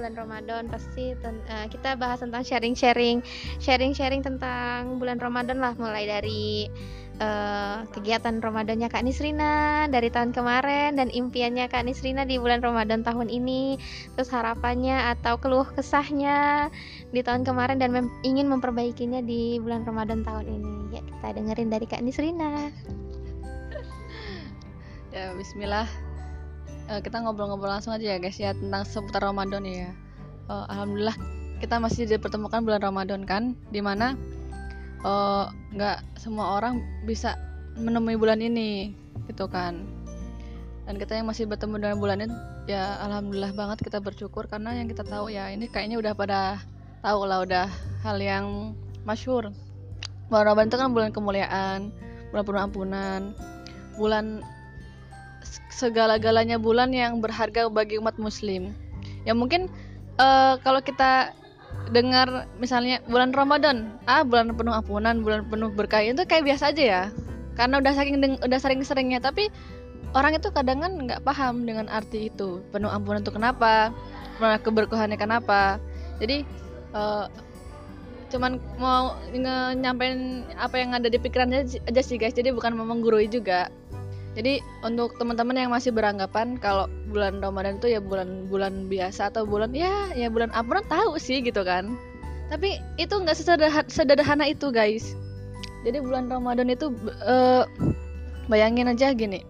bulan Ramadan pasti kita bahas tentang sharing-sharing tentang bulan Ramadan lah, mulai dari kegiatan Ramadannya Kak Nisrina dari tahun kemarin dan impiannya Kak Nisrina di bulan Ramadan tahun ini, terus harapannya atau keluh kesahnya di tahun kemarin dan ingin memperbaikinya di bulan Ramadan tahun ini. Ya, kita dengerin dari Kak Nisrina. Ya, bismillah. Kita ngobrol-ngobrol langsung aja ya guys ya tentang seputar Ramadan ya. Alhamdulillah kita masih dipertemukan bulan Ramadan kan, dimana nggak semua orang bisa menemui bulan ini gitu kan, dan kita yang masih bertemu dengan bulan ini ya alhamdulillah banget, kita bersyukur karena yang kita tahu ya ini kayaknya udah pada tahu lah, udah hal yang masyhur. Bulan Ramadan itu kan bulan kemuliaan, bulan penuh ampunan, bulan segala-galanya, bulan yang berharga bagi umat muslim. Ya mungkin kalau kita dengar misalnya bulan Ramadan, bulan penuh ampunan, bulan penuh berkah, itu kayak biasa aja ya. Karena udah sering-seringnya, tapi orang itu kadang kan nggak paham dengan arti itu. Penuh ampunan itu kenapa? Keberkahannya kenapa? Jadi cuman mau nyampein apa yang ada di pikirannya aja sih guys. Jadi bukan mau menggurui juga. Jadi untuk teman-teman yang masih beranggapan kalau bulan Ramadan itu ya bulan biasa atau bulan ya bulan ampunan, tahu sih gitu kan. Tapi itu nggak sederhana itu guys. Jadi bulan Ramadan itu bayangin aja gini,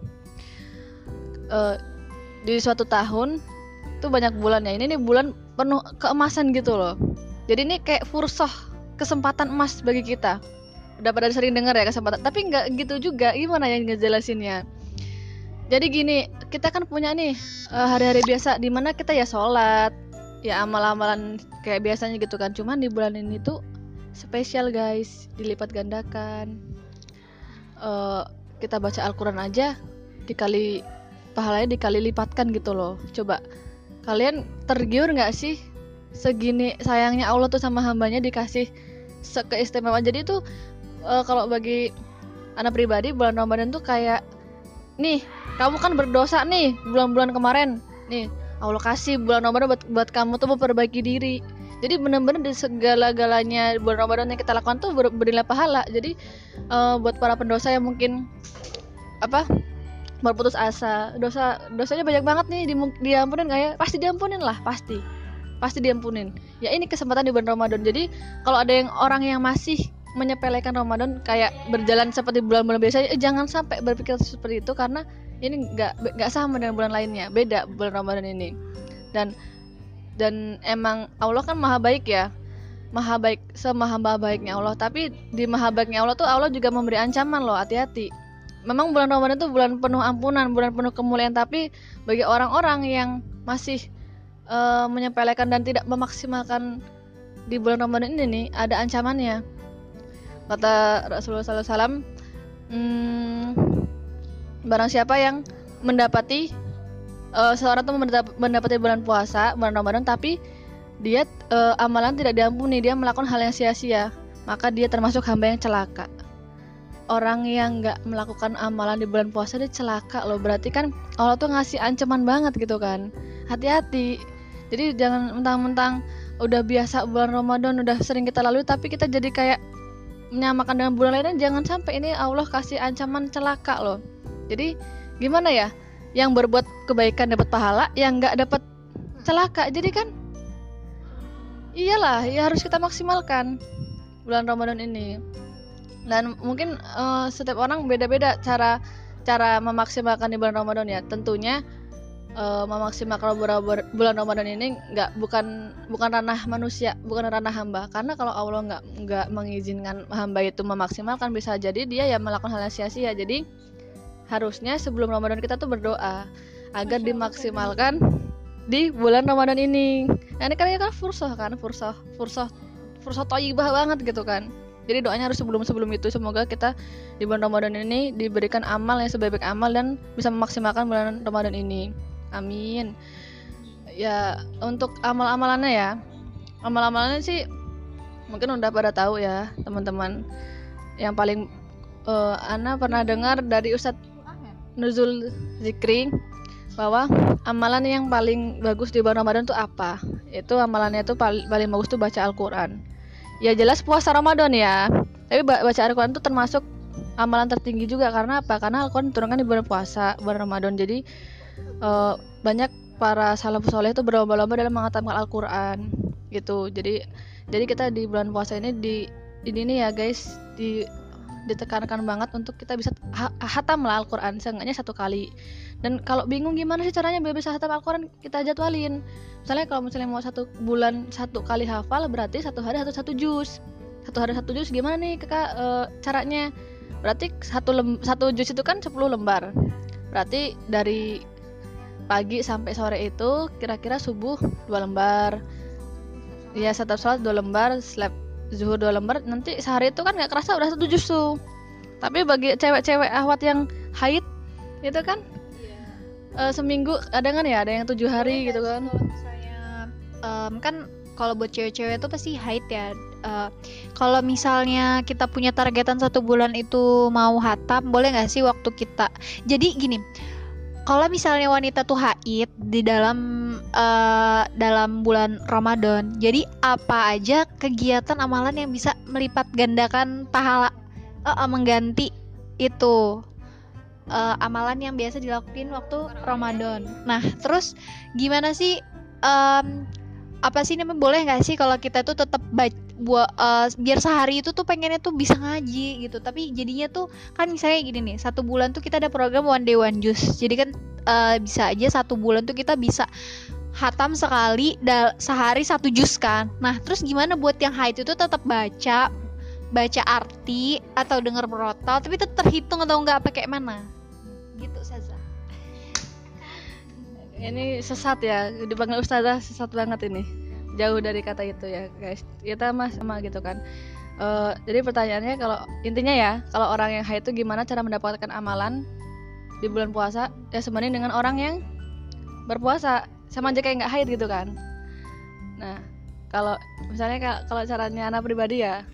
di suatu tahun itu banyak bulannya. Ini nih bulan penuh keemasan gitu loh. Jadi ini kayak fursah, kesempatan emas bagi kita. Udah pada sering dengar ya kesempatan, tapi nggak gitu juga. Gimana yang ngejelasinnya? Jadi gini, kita kan punya nih hari-hari biasa di mana kita ya sholat, ya amal-amalan kayak biasanya gitu kan. Cuman di bulan ini tuh spesial guys, dilipat gandakan. Kita baca Al-Quran aja pahalanya dikali lipatkan gitu loh. Coba kalian tergiur nggak sih segini sayangnya Allah tuh sama hambanya dikasih keistimewaan. Jadi tuh kalau bagi anak pribadi, bulan Ramadan tuh kayak nih, kamu kan berdosa nih bulan-bulan kemarin, nih Allah kasih bulan Ramadan buat kamu tuh memperbaiki diri. Jadi benar-benar di segala-galanya bulan Ramadan yang kita lakukan tuh bernilai pahala. Jadi buat para pendosa yang mungkin berputus asa, dosanya banyak banget nih, diampunin nggak ya? Pasti diampunin lah, pasti diampunin. Ya ini kesempatan di bulan Ramadan. Jadi kalau ada orang yang masih menyepelekan Ramadan kayak berjalan seperti bulan-bulan biasa, jangan sampai berpikir seperti itu, karena ini nggak sama dengan bulan lainnya, beda bulan Ramadan ini. Dan emang Allah kan maha baik ya, maha baik, semaha baiknya Allah. Tapi di maha baiknya Allah tuh Allah juga memberi ancaman loh, hati-hati. Memang bulan Ramadan itu bulan penuh ampunan, bulan penuh kemuliaan, tapi bagi orang-orang yang masih menyepelekan dan tidak memaksimalkan di bulan Ramadan ini nih, ada ancamannya. Kata Rasulullah SAW, barang siapa yang mendapati seorang itu mendapati bulan puasa, bulan Ramadan, tapi dia amalan tidak diampuni, dia melakukan hal yang sia-sia, maka dia termasuk hamba yang celaka. Orang yang nggak melakukan amalan di bulan puasa dia celaka loh. Berarti kan Allah tuh ngasih ancaman banget gitu kan. Hati-hati. Jadi jangan mentang-mentang udah biasa bulan Ramadan, udah sering kita lalui, tapi kita jadi kayak menyamakan dengan bulan lainnya. Jangan sampai ini Allah kasih ancaman celaka loh. Jadi gimana ya, yang berbuat kebaikan dapat pahala, yang nggak dapat celaka. Jadi kan iyalah, ya harus kita maksimalkan bulan Ramadan ini. Dan mungkin setiap orang beda-beda cara memaksimalkan di bulan Ramadan ya. Tentunya memaksimalkan bulan Ramadan ini bukan ranah manusia, bukan ranah hamba. Karena kalau Allah nggak mengizinkan hamba itu memaksimalkan, bisa jadi dia ya melakukan hal yang sia-sia. Jadi harusnya sebelum Ramadan kita tuh berdoa agar dimaksimalkan di bulan Ramadan ini. Nah, ini kan fursah thayyibah banget gitu kan. Jadi doanya harus sebelum itu, semoga kita di bulan Ramadan ini diberikan amal yang sebaik-baik amal dan bisa memaksimalkan bulan Ramadan ini. Amin. Ya, untuk amalannya sih mungkin udah pada tahu ya teman-teman. Yang paling Ana pernah dengar dari Ustadz Nuzul Zikri bahwa amalan yang paling bagus di bulan Ramadan itu apa? Itu amalannya tuh paling bagus tuh baca Al-Quran. Ya jelas puasa Ramadan ya, tapi baca Al-Quran tuh termasuk amalan tertinggi juga. Karena apa? Karena Al-Quran diturunkan di bulan puasa, bulan Ramadan. Jadi banyak para salafus soleh itu berlomba-lomba dalam menghatamkan Al-Quran gitu. Jadi kita di bulan puasa ini ini nih ya guys, ditekankan banget untuk kita bisa hatam lah Al-Quran seenggaknya 1 kali. Dan kalau bingung gimana sih caranya biar bisa hatam Al-Quran, kita jadwalin. Misalnya kalau mau 1 bulan 1 kali hafal, berarti 1 hari 1 juz. 1 hari 1 juz gimana nih kakak caranya? Berarti 1 juz itu kan 10 lembar. Berarti dari pagi sampai sore itu kira-kira subuh 2 lembar. Ya setiap sholat 2 lembar, zuhur 2 lembar. Nanti sehari itu kan gak kerasa udah 1 juz tuh. Tapi bagi cewek-cewek ahwat yang haid itu kan seminggu ada kan ya, ada yang 7 hari gitu kan. Kalau misalnya kan kalau buat cewek-cewek itu pasti haid ya. Kalau misalnya kita punya targetan 1 bulan itu mau hatam, boleh nggak sih waktu kita? Jadi gini, kalau misalnya wanita tuh haid di dalam bulan Ramadan, jadi apa aja kegiatan amalan yang bisa melipat gandakan pahala, mengganti itu amalan yang biasa dilakuin waktu Ramadan. Nah, terus gimana sih? Apa sih namanya, boleh nggak sih kalau kita tuh tetap biar sehari itu tuh pengennya tuh bisa ngaji gitu, tapi jadinya tuh kan misalnya gini nih, 1 bulan tuh kita ada program one day one juz, jadi kan bisa aja 1 bulan tuh kita bisa hatam sekali sehari 1 juz kan. Nah terus gimana buat yang haid itu tetap baca arti atau denger berotal tapi tetap terhitung atau enggak, pakai mana gitu Saza? Ini sesat ya, dipanggil ustazah sesat banget ini. Jauh dari kata itu ya guys. Kita sama gitu kan. Jadi pertanyaannya, kalau intinya ya, kalau orang yang haid itu gimana cara mendapatkan amalan di bulan puasa? Ya sebanding dengan orang yang berpuasa, sama aja kayak nggak haid gitu kan. Nah kalau misalnya kalau caranya anak pribadi ya,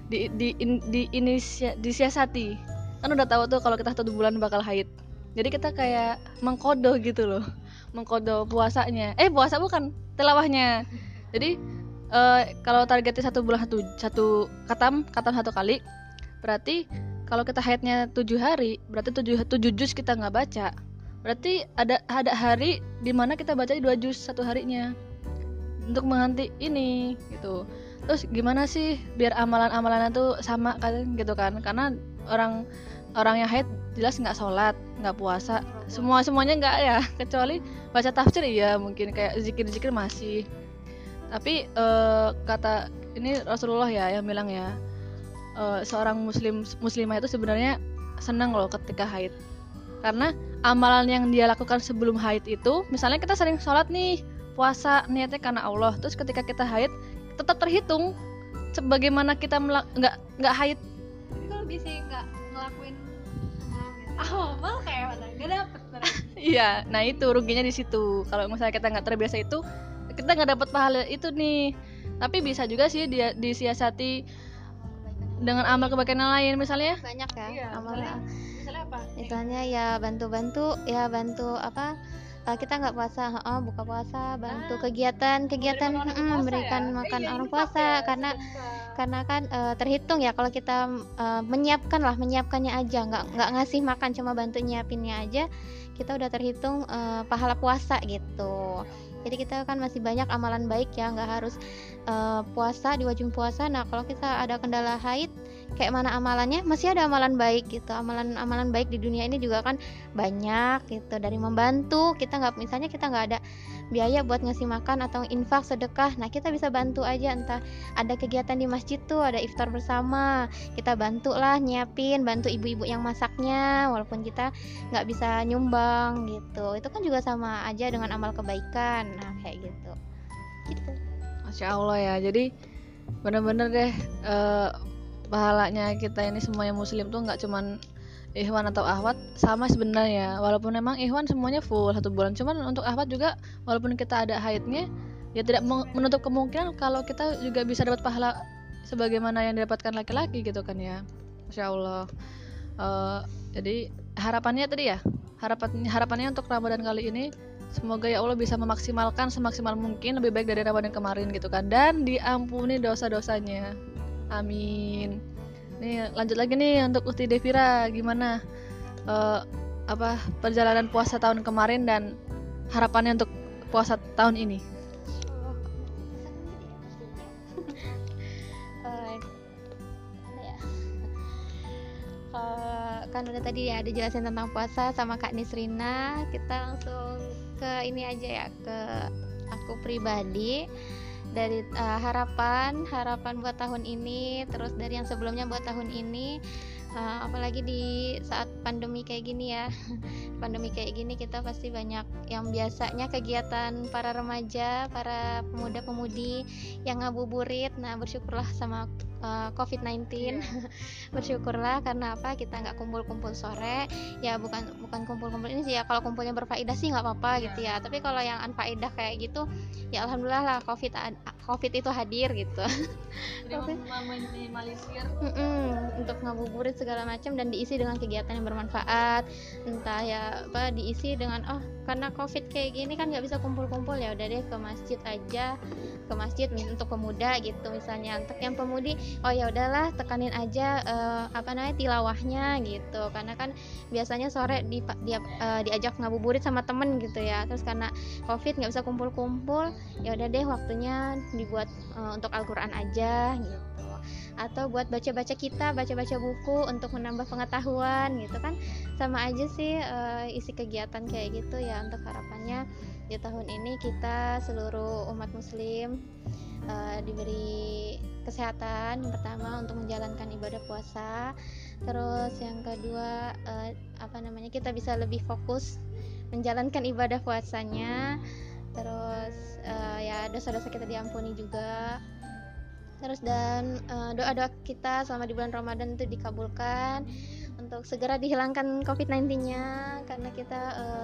disiasati. Kan udah tahu tuh kalau kita 1 bulan bakal haid. Jadi kita kayak mengkodo gitu loh, mengkodo puasanya. Puasa bukan, tilawahnya. Jadi kalau targetnya 1 bulan 1 katam 1 kali, berarti kalau kita haidnya 7 hari, berarti 7 juz kita nggak baca. Berarti ada hari di mana kita baca 2 juz 1 harinya untuk mengganti ini gitu. Terus gimana sih biar amalan-amalannya tuh sama kan gitu kan? Karena orang yang haid jelas nggak sholat, nggak puasa, semuanya nggak ya, kecuali baca tafsir ya mungkin, kayak zikir masih. Tapi kata ini Rasulullah ya yang bilang ya, seorang muslimah itu sebenarnya senang loh ketika haid, karena amalan yang dia lakukan sebelum haid itu, misalnya kita sering sholat nih, puasa niatnya karena Allah, terus ketika kita haid tetap terhitung sebagaimana kita nggak haid. Tapi kalau bisa nggak ngelakuin amal kayak mana, nggak dapet. Iya, nah itu ruginya di situ. Kalau misalnya kita nggak terbiasa itu, kita nggak dapat pahala itu nih. Tapi bisa juga sih dia disiasati dengan amal kebaikan yang lain, misalnya Banyak ya Misalnya apa? Misalnya ya bantu apa, kita nggak puasa, buka puasa, bantu kegiatan memberikan makan orang puasa, karena kan terhitung ya kalau kita menyiapkannya aja, nggak ngasih makan, cuma bantu nyiapinnya aja, kita udah terhitung pahala puasa gitu. Jadi kita kan masih banyak amalan baik ya, nggak harus puasa di wajib puasa. Nah kalau kita ada kendala haid, kayak mana amalannya, masih ada amalan baik gitu. Amalan baik di dunia ini juga kan banyak gitu, dari membantu. Misalnya kita nggak ada biaya buat ngasih makan atau infak sedekah, nah kita bisa bantu aja, entah ada kegiatan di masjid tuh ada iftar bersama, kita bantulah nyiapin, bantu ibu-ibu yang masaknya walaupun kita nggak bisa nyumbang gitu. Itu kan juga sama aja dengan amal kebaikan. Nah kayak gitu. Masya Allah ya. Jadi bener-bener deh, pahalanya kita ini semuanya muslim tuh nggak cuman ikhwan atau akhwat, sama sebenarnya. Walaupun memang ikhwan semuanya full 1 bulan, cuman untuk akhwat juga walaupun kita ada haidnya, ya tidak menutup kemungkinan kalau kita juga bisa dapat pahala sebagaimana yang didapatkan laki-laki gitu kan ya. Masya Allah. Jadi harapannya tadi ya, harapannya untuk Ramadan kali ini Semoga ya Allah bisa memaksimalkan semaksimal mungkin, lebih baik dari Ramadan kemarin gitu kan, dan diampuni dosa-dosanya. Amin. Nih lanjut lagi nih untuk Uti Devira, gimana perjalanan puasa tahun kemarin dan harapannya untuk puasa tahun ini? Kan udah tadi ya ada jelasin tentang puasa sama Kak Nisrina, kita langsung ke ini aja ya, ke aku pribadi. Dari harapan buat tahun ini, terus dari yang sebelumnya buat tahun ini, apalagi di saat pandemi kayak gini ya. Pandemi kayak gini kita pasti banyak yang biasanya kegiatan para remaja, para pemuda-pemudi yang ngabuburit. Nah, bersyukurlah sama COVID-19. Bersyukurlah karena apa, kita nggak kumpul-kumpul sore ya, bukan kumpul-kumpul ini sih ya, kalau kumpulnya berfaedah sih nggak apa-apa gitu ya, tapi kalau yang anfaedah kayak gitu ya alhamdulillah lah COVID itu hadir gitu. Jadi meminimalisir untuk ngabuburit segala macam dan diisi dengan kegiatan yang bermanfaat, entah ya diisi dengan karena COVID kayak gini kan nggak bisa kumpul-kumpul, ya udah deh ke masjid aja, ke masjid untuk pemuda gitu misalnya. Untuk yang pemudi ya udahlah tekanin aja tilawahnya gitu, karena kan biasanya sore diajak ngabuburit sama temen gitu ya, terus karena COVID nggak bisa kumpul-kumpul, ya udah deh waktunya dibuat untuk Al-Quran aja gitu, atau buat baca-baca buku untuk menambah pengetahuan gitu kan, sama aja sih isi kegiatan kayak gitu ya. Untuk harapannya di tahun ini kita seluruh umat muslim diberi kesehatan, yang pertama untuk menjalankan ibadah puasa, terus yang kedua kita bisa lebih fokus menjalankan ibadah puasanya, terus ya dosa-dosa kita diampuni juga, terus dan doa-doa kita selama di bulan Ramadan itu dikabulkan untuk segera dihilangkan COVID-19-nya, karena kita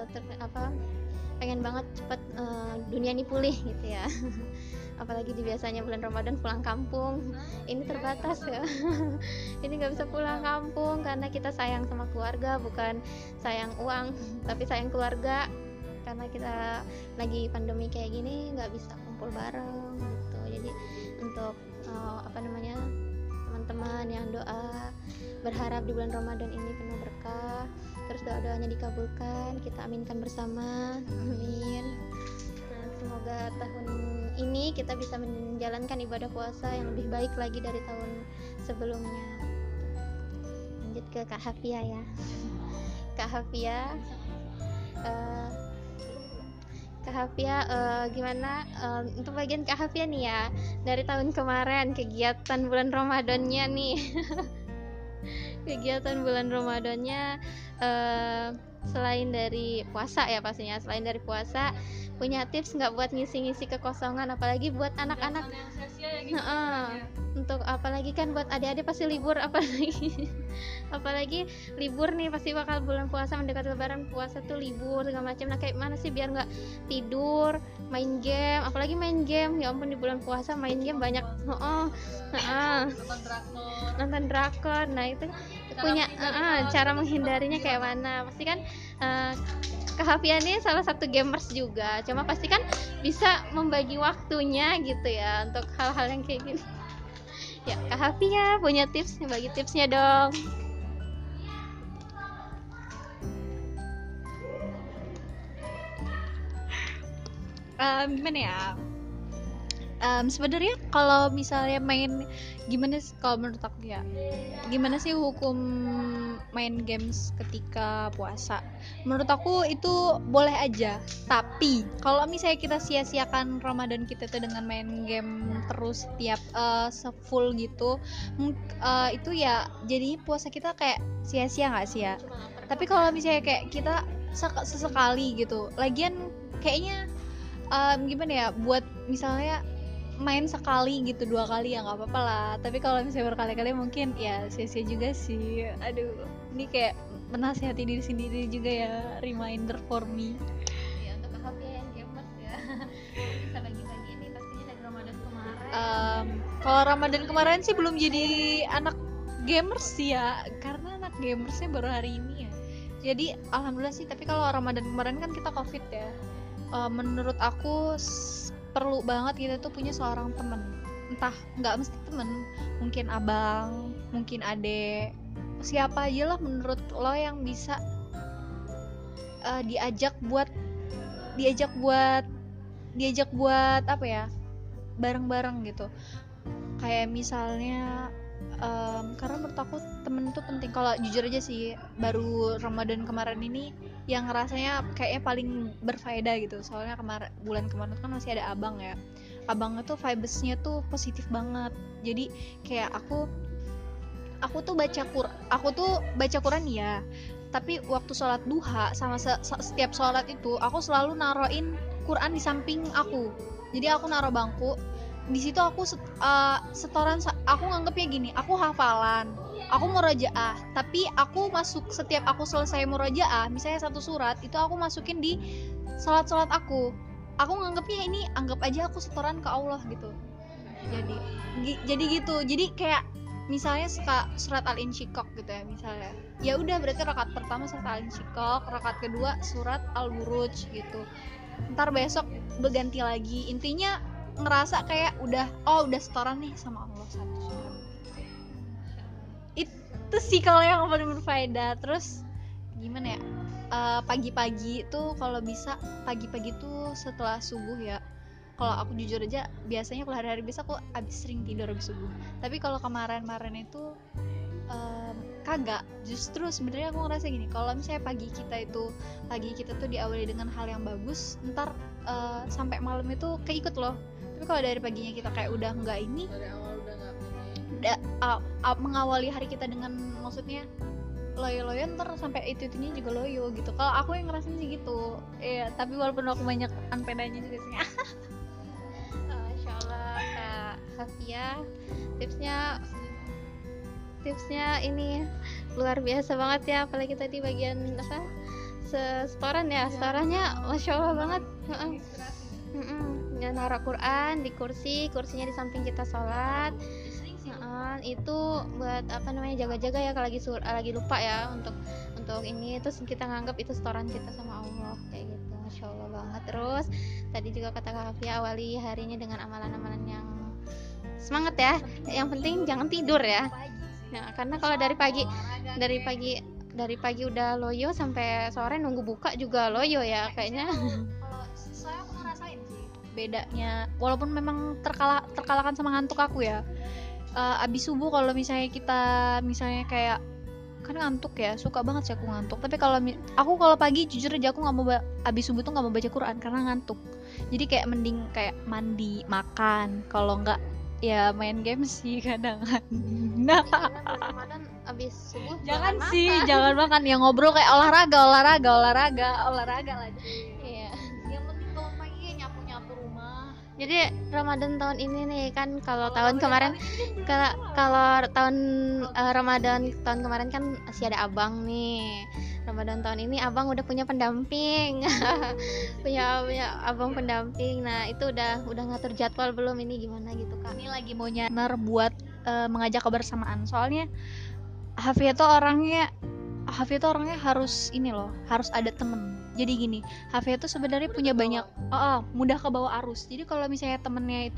pengen banget cepat dunia ini pulih gitu ya. Apalagi di biasanya bulan Ramadan pulang kampung, ini terbatas ya. Ini nggak bisa pulang kampung karena kita sayang sama keluarga, bukan sayang uang tapi sayang keluarga, karena kita lagi pandemi kayak gini nggak bisa kumpul bareng gitu. Jadi untuk teman-teman yang doa berharap di bulan Ramadan ini penuh berkah, terus doa-doanya dikabulkan, kita aminkan bersama, amin. Nah, semoga tahun ini kita bisa menjalankan ibadah puasa yang lebih baik lagi dari tahun sebelumnya. Lanjut ke Kak Hafia ya. Kak Hafia gimana untuk bagian Kak Hafia nih ya, dari tahun kemarin kegiatan bulan Ramadannya nih. Kegiatan bulan Ramadannya selain dari puasa ya, pastinya selain dari puasa, punya tips nggak buat ngisi-ngisi kekosongan, apalagi buat anak-anak untuk apalagi kan buat adik-adik pasti libur, apalagi libur nih, pasti bakal bulan puasa mendekati lebaran, puasa tuh libur segala macam. Nah, kayak mana sih biar nggak tidur, main game, apalagi main game, ya ampun di bulan puasa main game banyak, nonton drakor. Nah, itu punya cara menghindarinya kayak mana, pasti kan Kak Hafia ini salah satu gamers juga, cuma pasti kan bisa membagi waktunya gitu ya untuk hal-hal yang kayak gini. Ya, Kak Hafia punya tips, bagi tipsnya dong. Gimana ya? Sebenarnya kalau misalnya main, kalau menurut aku ya, gimana sih hukum main games ketika puasa? Menurut aku itu boleh aja, tapi kalau misalnya kita sia-siakan Ramadan kita tuh dengan main game terus tiap full gitu, itu ya jadinya puasa kita kayak sia-sia nggak sih ya? Tapi kalau misalnya kayak kita sesekali gitu, lagian kayaknya gimana ya, buat misalnya main sekali gitu, 2 kali ya nggak apa-apa lah, tapi kalau misalnya berkali-kali mungkin ya sia-sia juga sih. Aduh, ini kayak menasihati diri sendiri juga ya, reminder for me ya untuk Kak Hafia yang gamers ya. Bisa bagi-bagi nih pastinya dari Ramadan kemarin. Kalau Ramadan kemarin sih belum jadi anak gamers sih ya, karena anak gamersnya baru hari ini ya, jadi alhamdulillah sih. Tapi kalau Ramadan kemarin kan kita COVID ya, menurut aku perlu banget kita tuh punya seorang temen, entah nggak mesti temen, mungkin abang, mungkin adek, siapa aja lah menurut lo yang bisa diajak buat apa ya, bareng-bareng gitu. Kayak misalnya karena menurut aku temen tuh penting. Kalau jujur aja sih, baru Ramadan kemarin ini yang rasanya kayaknya paling berfaedah gitu. Soalnya bulan kemarin kan masih ada abang ya. Abangnya tuh vibes-nya tuh positif banget. Jadi kayak aku tuh baca Quran ya. Tapi waktu sholat duha sama setiap sholat itu aku selalu naroin Quran di samping aku. Jadi aku naruh bangku. Di situ aku setoran, aku nganggepnya gini, aku hafalan, aku murojaah, tapi setiap aku selesai murojaah, misalnya satu surat itu aku masukin di sholat aku nganggepnya ini, anggap aja aku setoran ke Allah gitu. Jadi gitu, jadi kayak misalnya surat Al-Insyiqaq gitu ya, misalnya ya udah berarti rakaat pertama surat Al-Insyiqaq, rakaat kedua surat Al-Buruj gitu, ntar besok berganti lagi. Intinya ngerasa kayak udah setoran nih sama Allah satu surat. Itu sih kalau yang paling berfaedah. Terus gimana ya, pagi-pagi tuh kalau bisa pagi-pagi tuh setelah subuh ya. Kalau aku jujur aja biasanya kalau hari-hari biasa aku sering tidur habis subuh. Tapi kalau kemarin itu kagak. Justru sebenarnya aku ngerasa gini, kalau misalnya pagi kita tuh diawali dengan hal yang bagus, ntar sampai malam itu keikut loh. Tapi kalau dari paginya kita kayak udah nggak ini, dari awal udah nggak mengawali hari kita dengan maksudnya loyo-loyo, ntar sampai itunya juga loyo gitu. Kalau aku yang ngerasain sih gitu ya. Tapi walaupun aku banyak unpedanya juga sih. Masya Allah Kak Hafia, tipsnya ini luar biasa banget ya. Apalagi tadi bagian apa, setoran ya, setorannya Masya Allah banget. Ya, naruh Quran di kursinya di samping kita sholat. Itu buat apa namanya, jaga-jaga ya kalau lagi lupa ya untuk ini, terus kita nganggap itu setoran kita sama Allah kayak gitu. Masya Allah banget. Terus tadi juga kata Kak Hafia, awali harinya dengan amalan-amalan yang semangat ya. Yang penting jangan tidur ya. Nah, karena kalau dari pagi udah loyo sampai sore nunggu buka juga loyo ya kayaknya. Kalau saya aku ngerasain sih bedanya, walaupun memang terkalahkan sama ngantuk aku ya. Abis subuh kalau misalnya kayak kan ngantuk ya, suka banget sih aku ngantuk. Tapi kalau pagi jujur aja aku nggak mau abis subuh tuh nggak mau baca Quran karena ngantuk. Jadi kayak mending kayak mandi, makan, kalau nggak ya main game sih kadang. Nah, Ramadan abis subuh jangan makan ya, ngobrol kayak olahraga lagi. Iya. Yang penting bangun pagi nyapu rumah. Jadi Ramadan tahun ini nih kan, kalau tahun kemarin Ramadan tahun kemarin kan masih ada abang nih. Ramadan tahun ini abang udah punya pendamping. punya abang pendamping. Nah, itu udah ngatur jadwal belum ini gimana gitu Kak. Ini lagi mau nyaner buat mengajak kebersamaan. Soalnya Hafia tuh orangnya harus ada temen. Jadi gini, Hafia tuh sebenarnya punya banyak mudah ke bawah arus. Jadi kalau misalnya temennya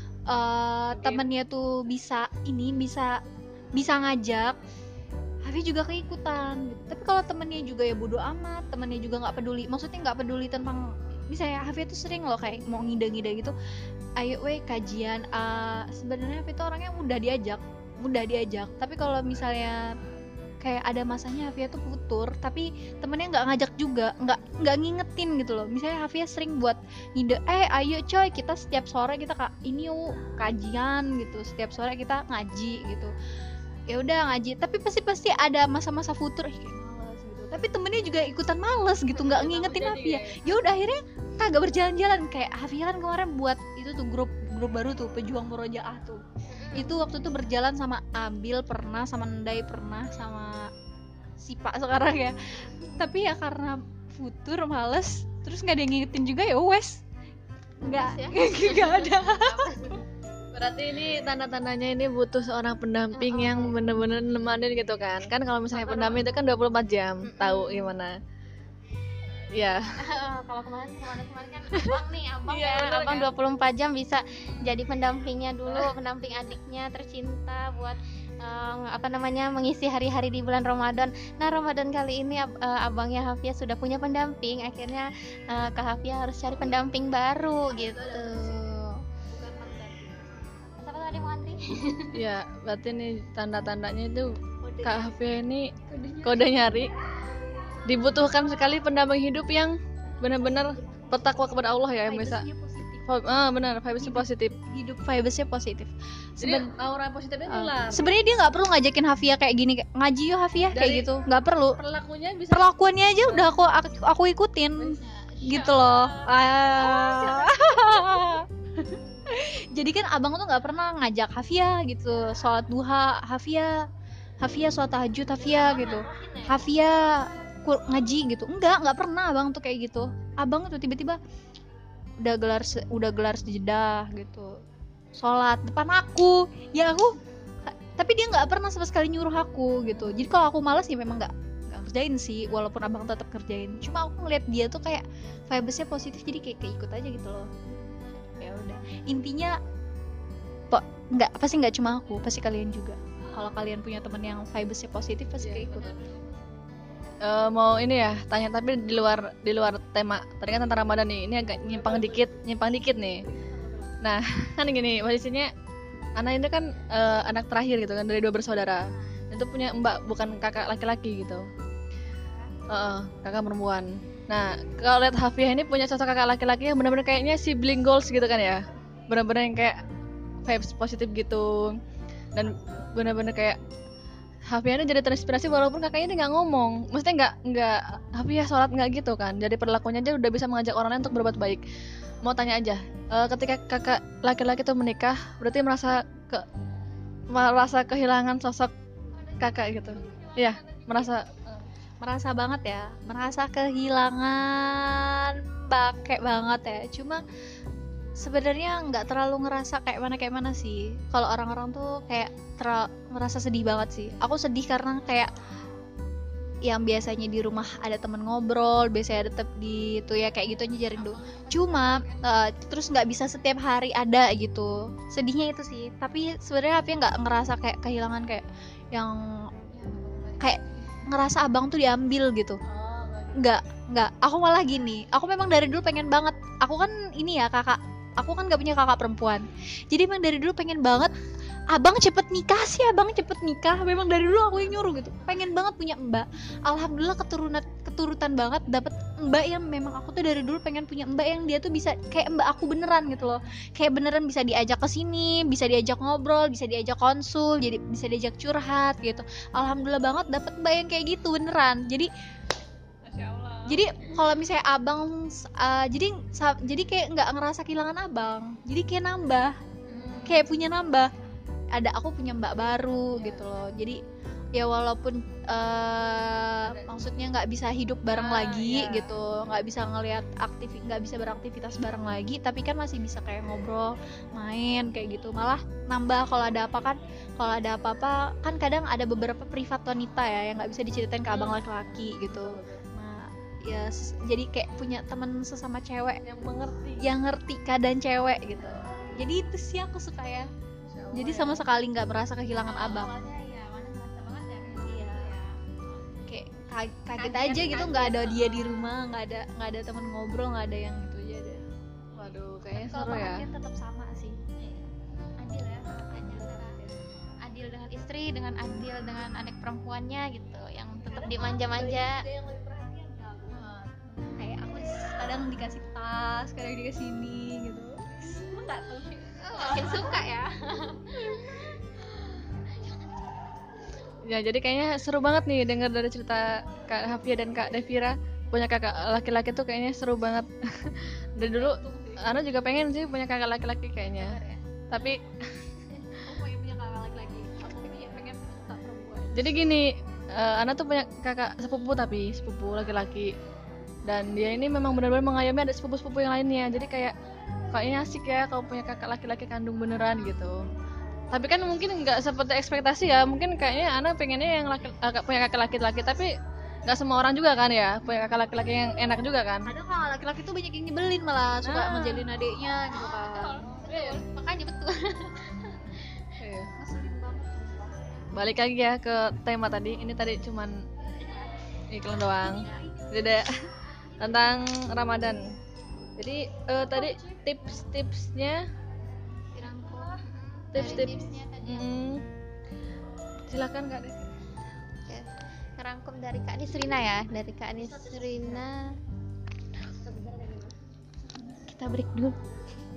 tuh bisa ngajak, Hafia juga keikutan gitu. Tapi kalau temennya juga ya bodo amat, temennya juga nggak peduli tentang, misalnya Hafia tuh sering loh kayak mau ngide-ngide gitu, ayo kajian. Sebenarnya Hafia tuh orangnya mudah diajak. Tapi kalau misalnya kayak ada masanya Hafia tuh futur, tapi temennya nggak ngajak juga, nggak ngingetin gitu loh. Misalnya Hafia sering buat ngide, ayo coy kita setiap sore kita ini yuk kajian gitu, setiap sore kita ngaji gitu. Ya udah ngaji, tapi pasti ada masa-masa futur kayak males gitu. Tapi temennya juga ikutan males gitu, nggak ngingetin Hafia. Ya udah akhirnya kagak berjalan-jalan. Kayak Hafia kan kemarin buat itu tuh grup baru tuh, pejuang murojaah tuh. Itu waktu itu berjalan sama Abil pernah, sama Ndai pernah, sama Sipa sekarang ya. Tapi ya karena futur males, terus nggak ada yang ngingetin juga ya wes, nggak ada. Berarti ini tanda-tandanya ini butuh seorang pendamping yang benar-benar nemanin gitu kan. Kan kalau misalnya pendamping itu kan 24 jam, tahu gimana. Ya. Kalau kemarin kan abang Iya, ya, bener abang kan? 24 jam bisa jadi pendampingnya dulu, pendamping adiknya tercinta buat mengisi hari-hari di bulan Ramadan. Nah, Ramadan kali ini abangnya Hafia sudah punya pendamping, akhirnya Kak Hafia harus cari pendamping baru gitu. Siapa tuh ada yang mau antri? Ya, berarti nih tanda-tandanya itu Kak Hafia ini kode nyari dibutuhkan sekali pendamping hidup yang benar-benar bertakwa kepada Allah ya, yang bisa benar, vibes-nya positif. Hidup vibes-nya positif. Jadi aura positifnya nular. Sebenarnya dia nggak perlu ngajakin Hafia kayak gini, kayak, ngaji yuk Hafia kayak Dari- gitu, nggak perlu. Perlakunya bisa Perlakuannya aja udah aku ikutin gitu loh. Jadi kan abang tuh nggak pernah ngajak Hafia gitu sholat duha, Hafia sholat tahajud, Hafia gitu, Hafia ngaji gitu, nggak pernah abang tuh kayak gitu. Abang tuh tiba-tiba udah gelar sejedah gitu, sholat depan aku, ya aku, tapi dia nggak pernah sama sekali nyuruh aku gitu. Jadi kalau aku malas ya memang nggak kerjain sih, walaupun abang tetap kerjain. Cuma aku ngeliat dia tuh kayak vibesnya positif, jadi kayak ikut aja gitu loh. Ya udah, intinya pasti nggak cuma aku, pasti kalian juga. Kalau kalian punya teman yang vibesnya positif pasti kayak ikut. mau ini ya tanya, tapi di luar tema tadi kan tentang Ramadan nih, ini agak nyimpang dikit nih. Nah kan gini, posisinya anak itu kan anak terakhir gitu kan dari 2 bersaudara, itu punya mbak, bukan kakak laki-laki gitu. Kakak perempuan. Nah kalau lihat Hafia ini punya sosok kakak laki-laki yang benar-benar kayaknya sibling goals gitu kan ya, benar-benar yang kayak vibes positif gitu, dan benar-benar kayak Hafia jadi terinspirasi walaupun kakaknya dia nggak ngomong, maksudnya nggak Hafia sholat nggak gitu kan, jadi perilakunya aja udah bisa mengajak orang lain untuk berbuat baik. Mau tanya aja, ketika kakak laki-laki itu menikah, berarti merasa kehilangan sosok kakak gitu? Iya, Merasa banget ya, merasa kehilangan kayak banget ya. Cuma sebenarnya nggak terlalu ngerasa kayak mana sih. Kalau orang-orang tuh kayak merasa sedih banget sih. Aku sedih karena kayak yang biasanya di rumah ada temen ngobrol, biasanya ada di itu ya kayak gitu aja jaring tuh. Cuma terus nggak bisa setiap hari ada gitu. Sedihnya itu sih. Tapi sebenarnya Hafia nggak ngerasa kayak kehilangan, kayak yang kayak ngerasa abang tuh diambil gitu. Nggak. Aku malah gini. Aku memang dari dulu pengen banget. Aku kan ini ya kakak. Aku kan gak punya kakak perempuan. Jadi emang dari dulu pengen banget abang cepet nikah. Memang dari dulu aku yang nyuruh gitu. Pengen banget punya mbak. Alhamdulillah keturutan banget dapet mbak yang memang aku tuh dari dulu pengen punya mbak yang dia tuh bisa kayak mbak aku beneran gitu loh. Kayak beneran bisa diajak ke sini, bisa diajak ngobrol, bisa diajak konsul, jadi bisa diajak curhat gitu. Alhamdulillah banget dapet mbak yang kayak gitu beneran. Jadi kalau misalnya abang jadi kayak nggak ngerasa kehilangan abang, jadi kayak nambah, ada aku punya mbak baru gitu loh. Jadi ya walaupun maksudnya nggak bisa hidup bareng lagi gitu, nggak bisa nggak bisa beraktivitas bareng lagi, tapi kan masih bisa kayak ngobrol, main kayak gitu. Malah nambah kalau ada apa-apa kan kadang ada beberapa privat wanita ya yang nggak bisa diceritain ke abang laki-laki gitu. Ya jadi kayak punya teman sesama cewek yang ngerti keadaan cewek gitu. Jadi itu sih aku suka ya. Jadi sama sekali nggak merasa kehilangan abang. Iya. Kayak kaget aja gitu, nggak ada dia di rumah, nggak ada teman ngobrol, nggak ada yang gitu aja deh. Waduh, kayaknya Kalau seru ya. perhatian tetap sama sih. Adil ya, adil dengan istri, dengan adil dengan anak perempuannya gitu, yang tetap dimanja-manja. Kayak aku kadang dikasih tas, kadang dikasih ini gitu. Enggak tuh. Makin suka ya. Ya, jadi kayaknya seru banget nih dengar dari cerita Kak Hafia dan Kak Devira. Punya kakak laki-laki tuh kayaknya seru banget. Dari dulu Ana juga pengen sih punya kakak laki-laki kayaknya. Tapi Aku pengen punya kakak laki-laki. Aku pengen kakak perempuan. jadi gini, Ana tuh punya kakak sepupu laki-laki. Dan dia ini memang benar-benar mengayomi ada sepupu-sepupu yang lainnya. Jadi kayaknya asik ya kalau punya kakak laki-laki kandung beneran gitu. Tapi kan mungkin nggak seperti ekspektasi ya. Mungkin kayaknya Ana pengennya yang punya kakak laki-laki, tapi nggak semua orang juga kan ya punya kakak laki-laki yang enak juga kan. Kadang kalau laki-laki tuh banyak yang nyebelin, malah suka Ah. ngejelin adiknya gitu kan. Makanya betul. Iya. Ngeselin banget. Balik lagi ya ke tema tadi. Ini tadi cuman iklan doang. Tidak tentang Ramadan. Jadi tadi tips-tipsnya, Tipsnya tadi silakan Kak. ya, ngerangkum dari Kak Nisrina ya, dari Kak Nisrina. Kita break dulu.